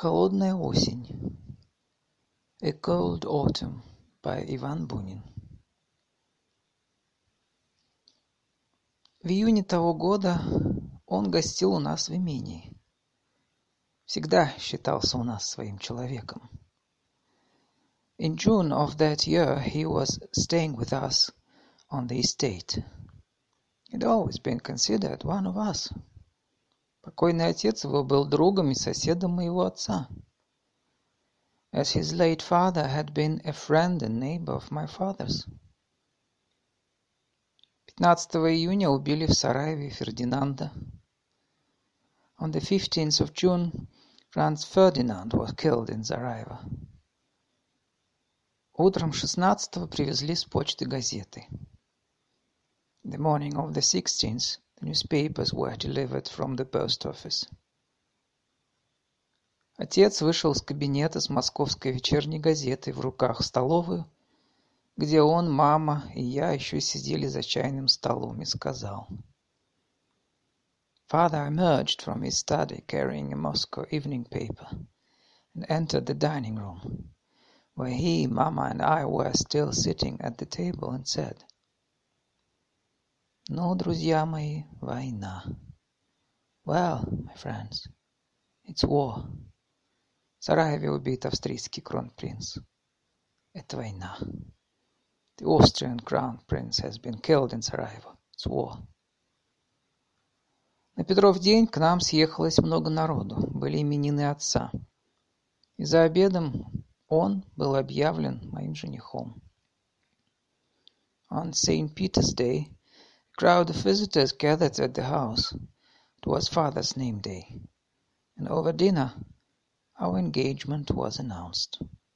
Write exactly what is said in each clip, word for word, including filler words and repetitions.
Холодная осень. A Cold Autumn by Иван Бунин. В июне того года он гостил у нас в имении. Всегда считался у нас своим человеком. In June of that year he was staying with us on the estate. He'd always been considered one of us. Покойный отец его был другом и соседом моего отца. As his late father had been a friend and neighbor of my father's. пятнадцатого июня убили в Сараеве Фердинанда. On the fifteenth of June, Franz Ferdinand was killed in Sarajevo. Утром шестнадцатого привезли с почты газеты. The morning of the sixteenth, the newspapers were delivered from the post office. Отец вышел из кабинета с московской вечерней газетой в руках в столовую, где он, мама и я еще сидели за чайным столом, и сказал. Father emerged from his study carrying a Moscow evening paper and entered the dining room, where he, Mama and I were still sitting at the table, and said, «Ну, друзья мои, война. Well, my friends, it's war. В Сараеве убит австрийский кронпринц. Это война. The Austrian crown prince has been killed in Sarajevo. It's war». На Петров день к нам съехалось много народу, были именины отца. И за обедом он был объявлен моим женихом. On Saint Peter's Day, a crowd of visitors gathered at the house. It was father's name day. And over dinner, our engagement was announced.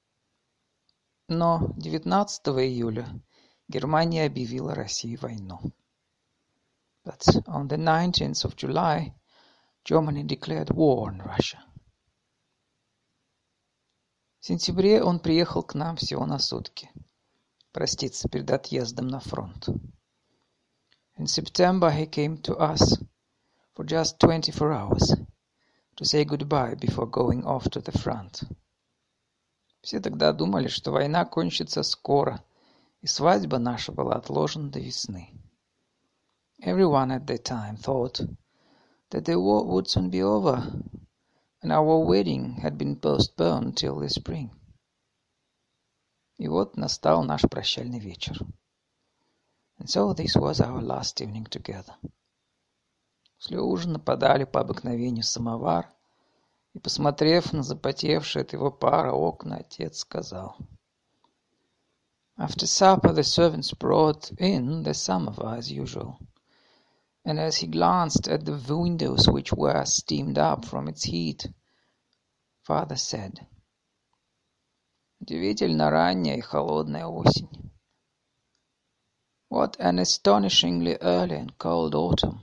Но девятнадцатого июля Германия объявила России войну. But on the nineteenth of July, Germany declared war on Russia. В сентябре он приехал к нам всего на сутки, проститься перед отъездом на фронт. In September he came to us for just twenty-four hours to say goodbye before going off to the front. Все тогда думали, что война кончится скоро, и свадьба наша была отложена до весны. Everyone at that time thought that the war would soon be over, and our wedding had been postponed till the spring. И вот настал наш прощальный вечер. And so this was our last evening together. После ужина подали по обыкновению самовар, и, посмотрев на запотевшие от его пара окна, отец сказал. After supper the servants brought in the samovar as usual, and as he glanced at the windows which were steamed up from its heat, father said, «Удивительно ранняя и холодная осень. What an astonishingly early and cold autumn».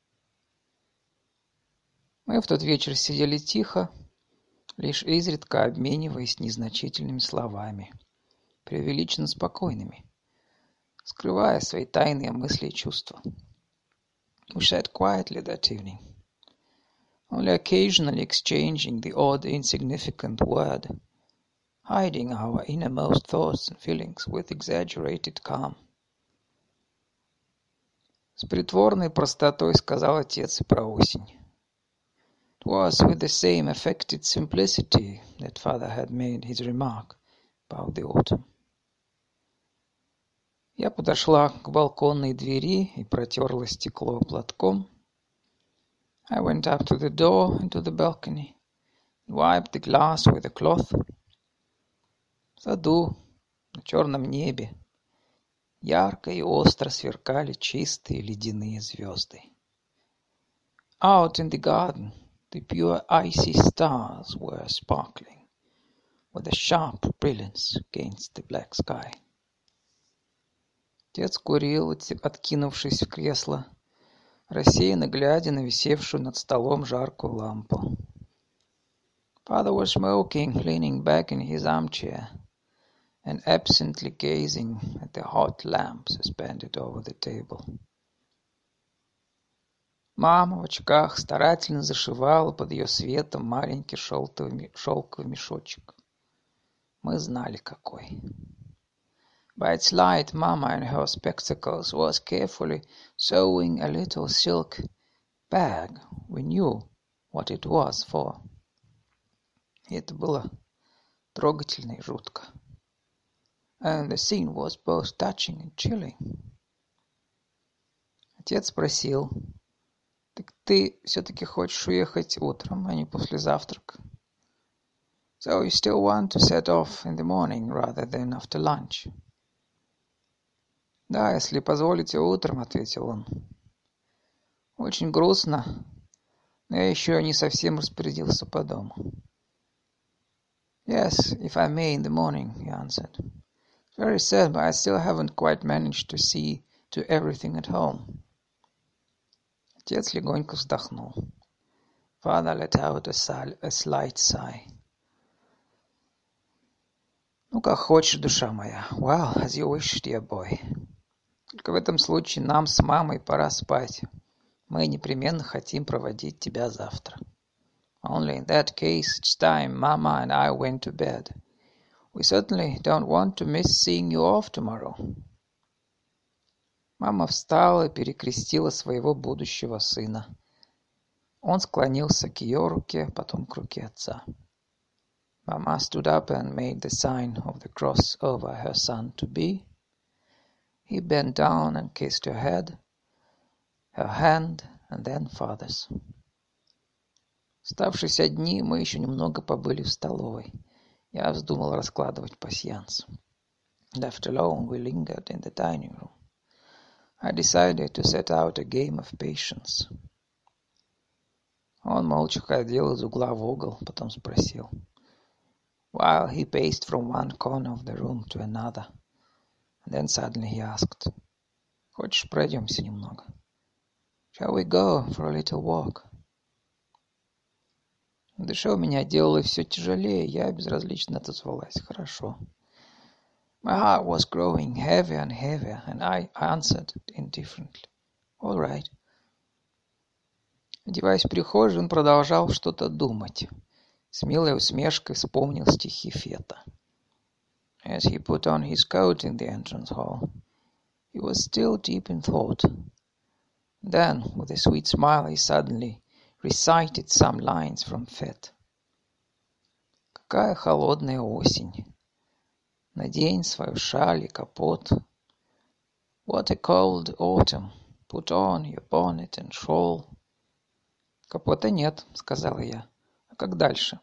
Мы в тот вечер сидели тихо, лишь изредка обмениваясь незначительными словами, преувеличенно спокойными, скрывая свои тайные мысли и чувства. We sat quietly that evening, only occasionally exchanging the odd insignificant word, hiding our innermost thoughts and feelings with exaggerated calm. С притворной простотой сказал отец и про осень. It was with the same affected simplicity that father had made his remark about the autumn. Я подошла к балконной двери и протерла стекло платком. I went up to the door into the balcony and wiped the glass with a cloth. В саду, на черном небе, ярко и остро сверкали чистые ледяные звезды. Out in the garden, the pure icy stars were sparkling with a sharp brilliance against the black sky. Отец курил, откинувшись в кресло, рассеянно глядя на висевшую над столом жаркую лампу. Father was smoking, leaning back in his armchair, and absently gazing at the hot lamp suspended over the table. Мама в очках старательно зашивала под ее светом маленький шелковый, шелковый мешочек. Мы знали, какой. By its light, Mama in her spectacles was carefully sewing a little silk bag. We knew what it was for. И это было трогательно и жутко. And the scene was both touching and chilling. Отец спросил: «Так ты все-таки хочешь уехать утром, а не после завтрака?» So you still want to set off in the morning rather than after lunch? Да, если позволите, утром, ответил он. Очень грустно, но я еще не совсем распорядился по дому. Yes, if I may, in the morning, he answered. Very sad, but I still haven't quite managed to see to everything at home. Отец легонько вздохнул. Father let out a, sigh, a slight sigh. Ну, как хочешь, душа моя. Well, as you wish, dear boy. Только в этом случае нам с мамой пора спать. Мы непременно хотим проводить тебя завтра. Only in that case, it's time Mama and I went to bed. We certainly don't want to miss seeing you off tomorrow. Мама встала и перекрестила своего будущего сына. Он склонился к ее руке, потом к руке отца. Mama stood up and made the sign of the cross over her son-to-be. He bent down and kissed her head, her hand, and then father's. Оставшись одни, мы еще немного побыли в столовой. Я вздумал раскладывать пасьянс. Left alone, we lingered in the dining room. I decided to set out a game of patience. Он молча ходил из угла в угол, потом спросил. While he paced from one corner of the room to another, and then suddenly he asked, «Хочешь, пройдемся немного?» Shall we go for a little walk? На душе у меня делалось все тяжелее, я безразлично отозвалась. Хорошо. My heart was growing heavier and heavier, and I answered indifferently. All right. Одеваясь в прихожей, он продолжал что-то думать. С милой усмешкой вспомнил стихи Фета. As he put on his coat in the entrance hall, he was still deep in thought. Then, with a sweet smile, he suddenly recited some lines from Fete. Какая холодная осень! Надень свою шаль и капот. What a cold autumn! Put on your bonnet and shawl. Капота нет, сказала я. А как дальше?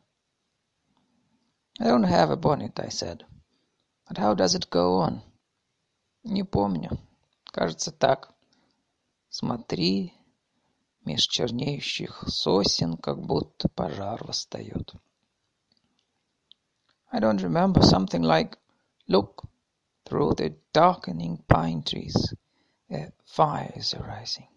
I don't have a bonnet, I said. But how does it go on? Не помню. Кажется, так. Смотри, меж чернеющих сосен, как будто пожар восстает. I don't remember. Something like, look, through the darkening pine trees, a fire is arising.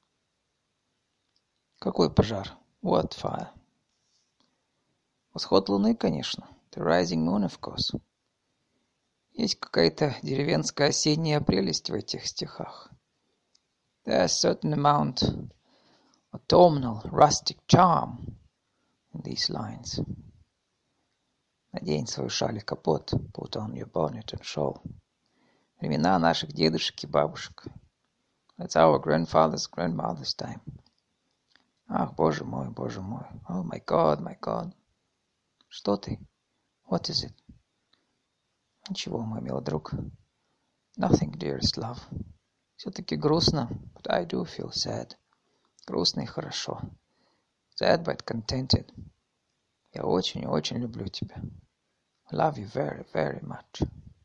Какой пожар? What fire? Восход луны, конечно. The rising moon, of course. Есть какая-то деревенская осенняя прелесть в этих стихах. There's a certain amount autumnal rustic charm in these lines. Надень свою шаль и капот. Put on your bonnet and shawl. Времена наших дедушек и бабушек. That's our grandfather's grandmother's time. Ах, боже мой, боже мой. Oh my God, my God. Что ты? What is it? Ничего, мой милый друг. Nothing, dearest love. Все-таки грустно, but I do feel sad. Грустно и хорошо. Sad but contented. Я очень-очень люблю тебя. I love you very, very much.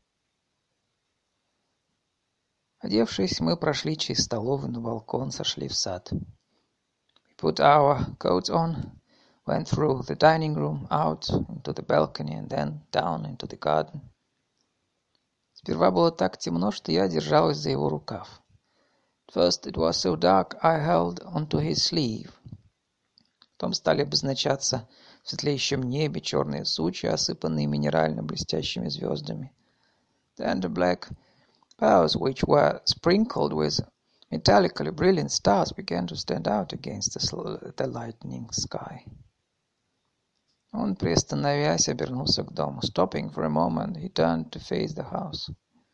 Одевшись, мы прошли через столовую на балкон, сошли в сад. We put our coats on, went through the dining room, out into the balcony, and then down into the garden. Сперва было так темно, что я держалась за его рукав. At first it was so dark, I held onto his sleeve. Потом стали обозначаться в светлеющем небе черные сучья, осыпанные минерально-блестящими звездами. Then the black clouds, which were sprinkled with Metallically brilliant stars began to stand out against the, the lightening sky. Он, приостановясь, обернулся к дому. Stopping for a moment, he turned to face the house.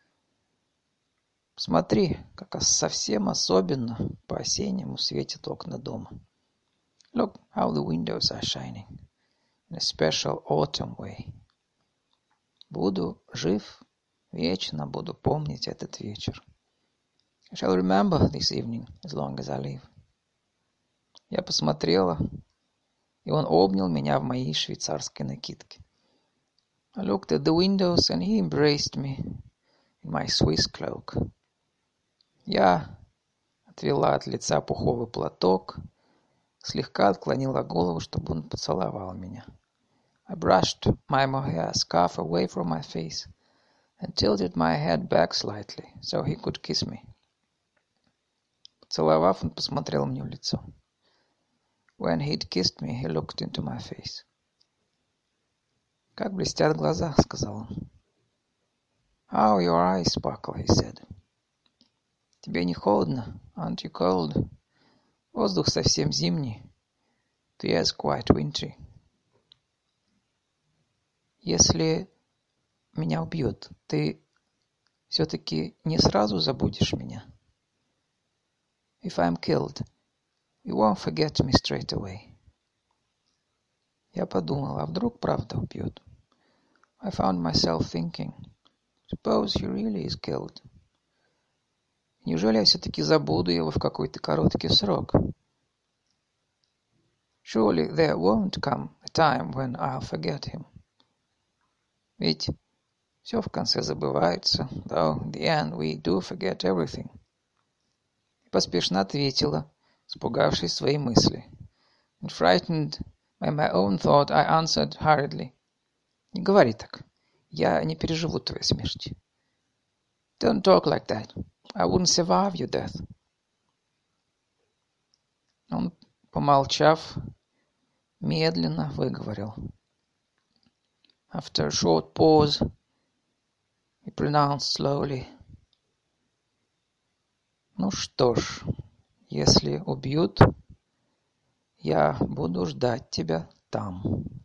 Смотри, как совсем особенно по-осеннему светят окна дома. Look how the windows are shining in a special autumn way. Буду жив, вечно буду помнить этот вечер. I shall remember this evening as long as I live. Я посмотрела, и он обнял меня в моей швейцарской накидке. I looked at the windows, and he embraced me in my Swiss cloak. Я отвела от лица пуховый платок, слегка отклонила голову, чтобы он поцеловал меня. I brushed my mohair scarf away from my face and tilted my head back slightly, so he could kiss me. Поцеловав, он посмотрел мне в лицо. When he'd kissed me, he looked into my face. «Как блестят глаза», — сказал он. «How your eyes sparkle», — he said. «Тебе не холодно? Aren't you cold? Воздух совсем зимний. The air's quite wintry». «Если меня убьют, ты все-таки не сразу забудешь меня?» «If I'm killed, you won't forget me straight away». Я подумал, а вдруг правда убьют? I found myself thinking, suppose he really is killed. Неужели я все-таки забуду его в какой-то короткий срок? Surely there won't come a time when I'll forget him. Ведь все в конце забывается, though in the end we do forget everything. И поспешно ответила, испугавшись своей мысли. And frightened by my own thought, I answered hurriedly. Не говори так. Я не переживу твоей смерти. Don't talk like that. I wouldn't survive your death. Он, помолчав, медленно выговорил. After a short pause, he pronounced slowly. Ну что ж, если убьют, я буду ждать тебя там.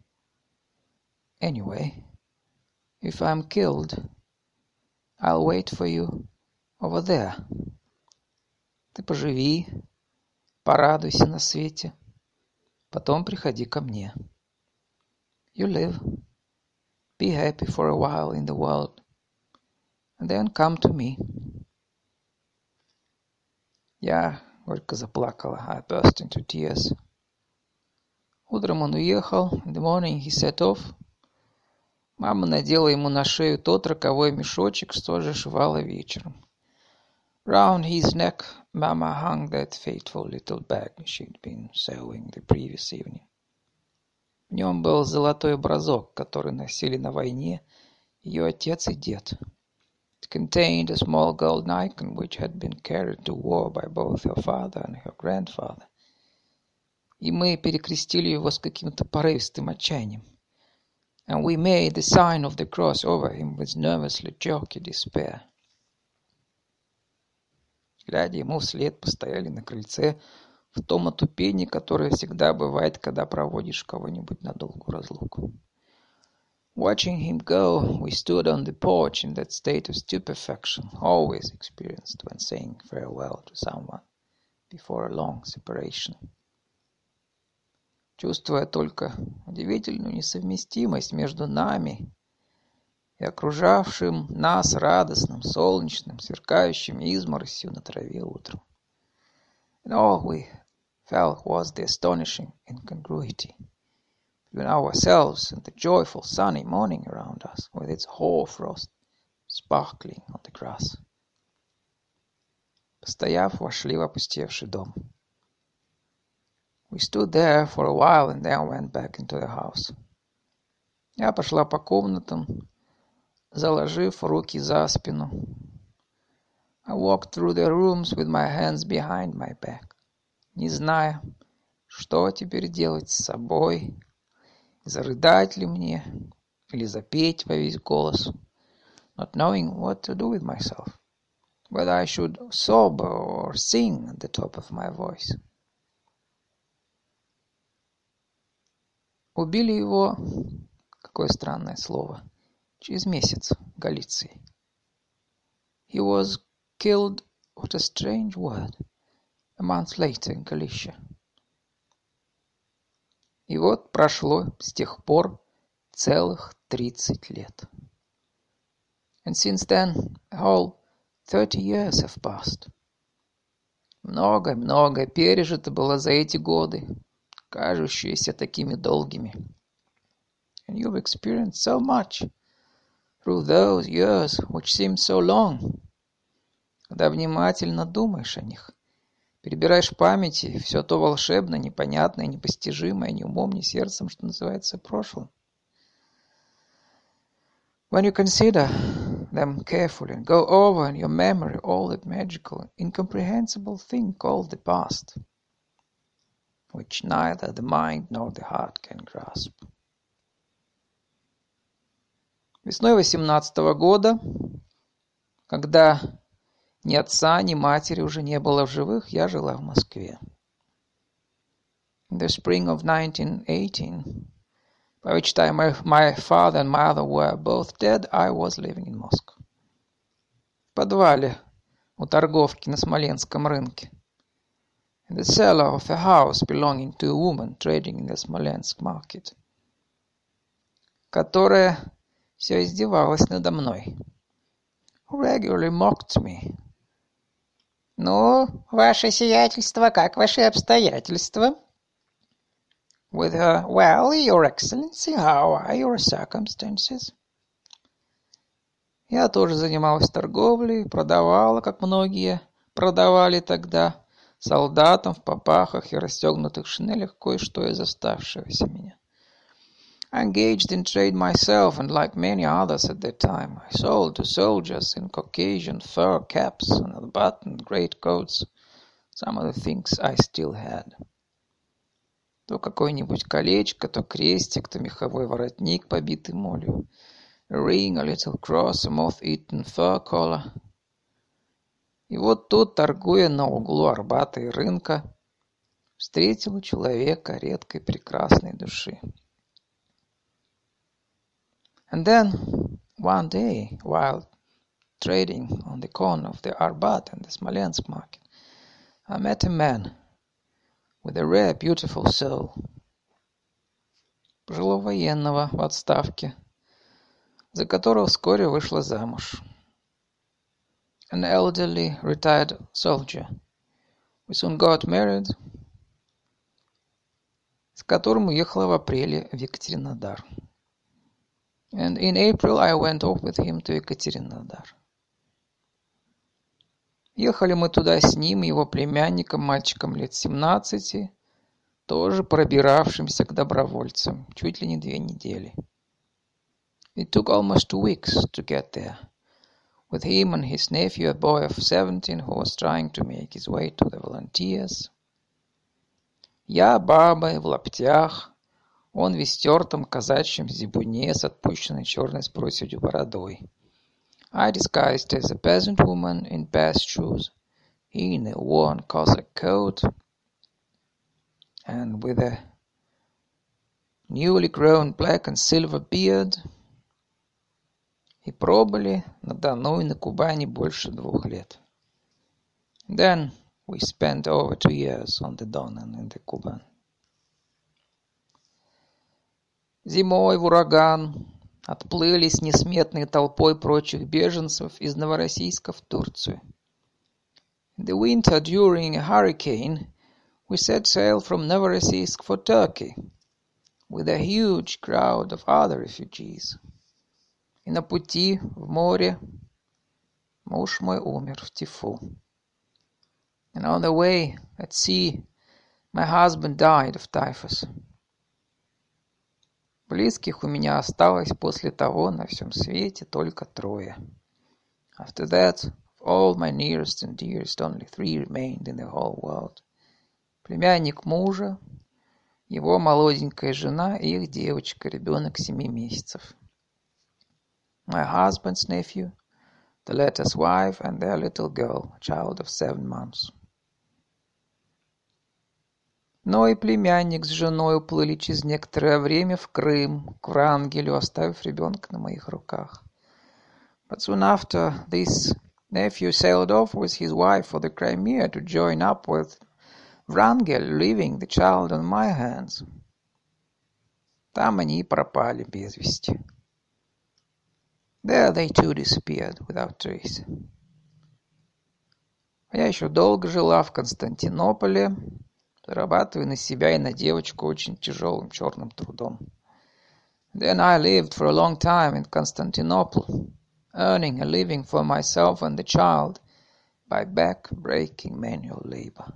Anyway, if I'm killed, I'll wait for you over there. Ты поживи, порадуйся на свете, потом приходи ко мне. You live, be happy for a while in the world, and then come to me. Я горько заплакала. I burst into tears. Утром он уехал. In the morning he set off. Мама надела ему на шею тот роковой мешочек, что зашивала вечером. Round his neck, Mama hung that fateful little bag she'd been sewing the previous evening. В нем был золотой образок, который носили на войне ее отец и дед. It contained a small golden icon which had been carried to war by both her father and her grandfather. И мы перекрестили его с каким-то порывистым отчаянием. And we made the sign of the cross over him with nervously jerky despair. Глядя ему вслед, постояли на крыльце в том отупении, которое всегда бывает, когда проводишь кого-нибудь на долгую разлуку. Watching him go, we stood on the porch in that state of stupefaction always experienced when saying farewell to someone before a long separation. Чувствуя только удивительную несовместимость между нами и окружавшим нас радостным, солнечным, сверкающим изморосью на траве утром. And all we felt was the astonishing incongruity between ourselves and the joyful sunny morning around us, with its hoar-frost sparkling on the grass. Постояв, вошли в опустевший дом. We stood there for a while and then went back into the house. Я пошла по комнатам, заложив руки за спину. I walked through the rooms with my hands behind my back, не зная, что теперь делать с собой, зарыдать ли мне или запеть во весь голос, not knowing what to do with myself, whether I should sob or sing at the top of my voice. Убили его, какое странное слово, через месяц в Галиции. He was killed, what a strange word, a month later in Galicia. И вот прошло с тех пор целых тридцать лет. And since then, a whole thirty years have passed. Много-много пережито было за эти годы, кажущиеся такими долгими. And you've experienced so much through those years which seem so long. Когда внимательно думаешь о них, перебираешь в памяти все то волшебное, непонятное, непостижимое, ни умом, ни сердцем, что называется, прошлым. When you consider them carefully and go over in your memory all that magical, incomprehensible thing called the past, which neither the mind nor the heart can grasp. Весной восемнадцатого года, когда ни отца, ни матери уже не было в живых, я жила в Москве. In the spring of nineteen eighteen, by which time my, my father and mother were both dead, I was living in Moscow. В подвале у торговки на Смоленском рынке. In the cellar of a house belonging to a woman trading in the Smolensk market, которая все издевалась надо мной. Who regularly mocked me. Ну, ваше сиятельство, как ваши обстоятельства? With her, well, your excellency, how are your circumstances? Я тоже занималась торговлей, продавала, как многие продавали тогда, солдатам в папахах и расстегнутых шинелях кое-что из оставшегося меня. I engaged in trade myself, and like many others at that time, I sold to soldiers in Caucasian fur caps and unbuttoned greatcoats some of the things I still had. То какое-нибудь колечко, то крестик, то меховой воротник, побитый молью, a ring, a little cross, a moth-eaten fur collar. И вот тут, торгуя на углу Арбата и рынка, встретила человека редкой прекрасной души. And then, one day, while trading on the corner of the Arbat and the Smolensk market, I met a man with a rare, beautiful soul. Пожилого военного в отставке, за которого вскоре вышла замуж. An elderly, retired soldier, who soon got married, с которым уехала в апреле в Екатеринодар. And in April I went off with him to Екатеринодар. Ехали мы туда с ним и его племянником, мальчиком лет семнадцати, тоже пробиравшимся к добровольцам, чуть ли не две недели. It took almost two weeks to get there, with him and his nephew, a boy of seventeen, who was trying to make his way to the volunteers. Я бабой в лаптях, он в истертом казачьем зибуне с отпущенной черной с проседью бородой. I disguised as a peasant woman in bast shoes, he in a worn Cossack coat, and with a newly grown black and silver beard. И пробыли на Дону и на Кубани больше двух лет. Then we spent over two years on the Don and in the Kuban. Зимой в ураган отплыли с несметной толпой прочих беженцев из Новороссийска в Турцию. In the winter, during a hurricane, we set sail from Novorossiysk for Turkey, with a huge crowd of other refugees. И на пути в море муж мой умер в тифу. And on the way at sea, my husband died of typhus. Близких у меня осталось после того на всем свете только трое. After that, of all my nearest and dearest, only three remained in the whole world. Племянник мужа, его молоденькая жена и их девочка, ребенок семи месяцев. My husband's nephew, the latter's wife, and their little girl, a child of seven months. Но и племянник с женой уплыли через некоторое время в Крым, к Врангелю, оставив ребенка на моих руках. But soon after, this nephew sailed off with his wife for the Crimea to join up with Wrangel, leaving the child on my hands. Там они и пропали без вести. There they too disappeared without trace. Я еще долго жила в Константинополе, зарабатывая на себя и на девочку очень тяжелым черным трудом. Then I lived for a long time in Constantinople, earning a living for myself and the child by back-breaking manual labor.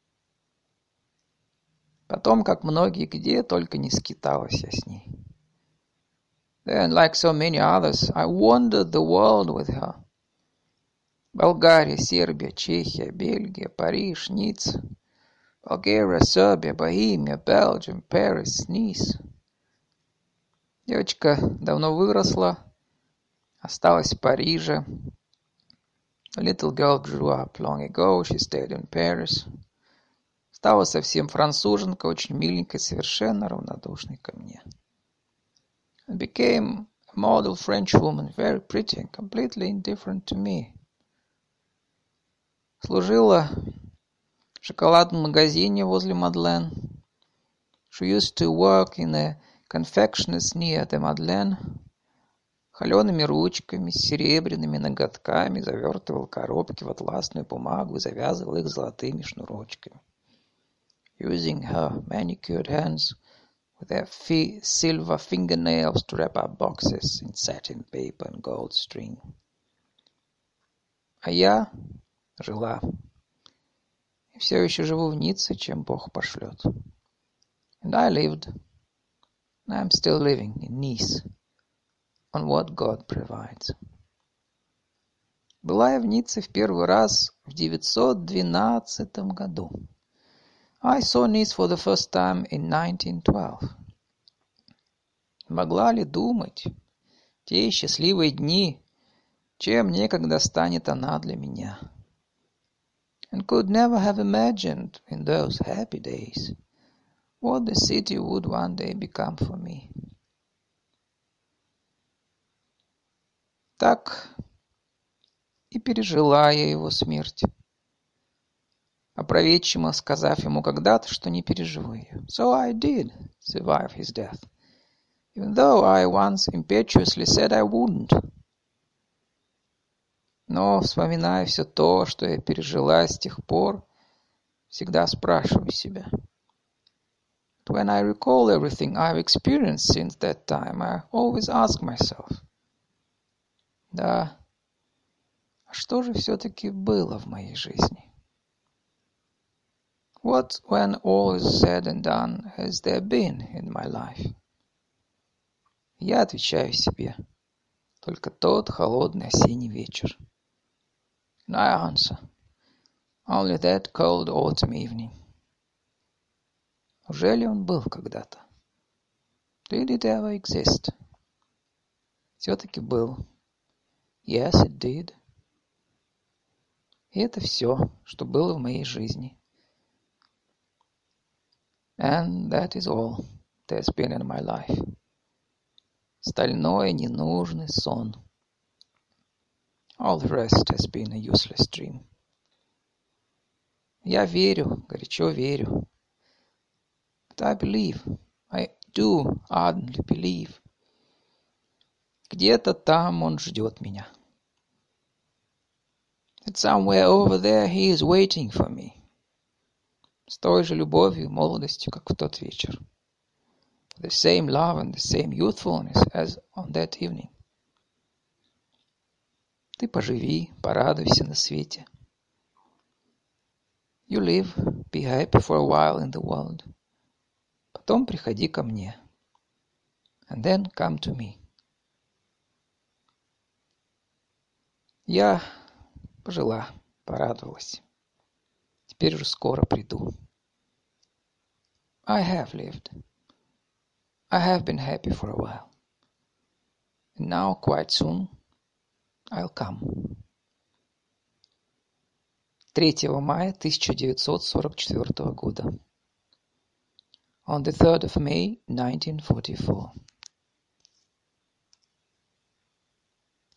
Потом, как многие, где только не скиталась я с ней. Then, like so many others, I wandered the world with her. Болгария, Сербия, Чехия, Бельгия, Париж, Ницца. Bulgaria, Serbia, Bohemia, Belgium, Paris, Nice. Девочка давно выросла, осталась в Париже. The little girl grew up long ago, she stayed in Paris. Стала совсем француженка, очень миленькой, совершенно равнодушной ко мне. And became a model French woman, very pretty and completely indifferent to me. Служила в шоколадном магазине возле Мадлен. She used to work in a confectioner's near the Madeleine. Холеными ручками, с серебряными ноготками завертывал коробки в атласную бумагу и завязывал их золотыми шнурочками. Using her manicured hands with their fi- silver fingernails to wrap up boxes in satin paper and gold string. А я жила. И все еще живу в Ницце, чем Бог пошлет. And I lived, and I'm still living in Nice, on what God provides. Была я в Ницце в первый раз в девятьсот двенадцатом году. I saw Nice for the first time in nineteen twelve. Могла ли думать, те счастливые дни, чем некогда станет она для меня? And could never have imagined in those happy days what the city would one day become for me. Так и пережила я его смерть, опроветчиво сказав ему когда-то, что не переживу ее. So I did survive his death, even though I once impetuously said I wouldn't. Но, вспоминая все то, что я пережила с тех пор, всегда спрашиваю себя. But when I recall everything I've experienced since that time, I always ask myself, да, а что же все-таки было в моей жизни? What, when all is said and done, has there been in my life? Я отвечаю себе, только тот холодный осенний вечер. And I answer, only that cold autumn evening. Уже ли он был когда-то? Did it ever exist? Все-таки был. Yes, it did. И это все, что было в моей жизни. And that is all that has been in my life. Стальной ненужный сон. All the rest has been a useless dream. Я верю, горячо верю. But I believe, I do ardently believe. Где-то там он ждет меня. That somewhere over there he is waiting for me. С той же любовью и молодостью, как в тот вечер. The same love and the same youthfulness as on that evening. Ты поживи, порадуйся на свете. You live, be happy for a while in the world. Потом приходи ко мне. And then come to me. Я пожила, порадовалась. Теперь уже скоро приду. I have lived. I have been happy for a while. And now, quite soon, I'll come. третьего мая тысяча девятьсот сорок четвёртого года. On the third of May, nineteen forty-four.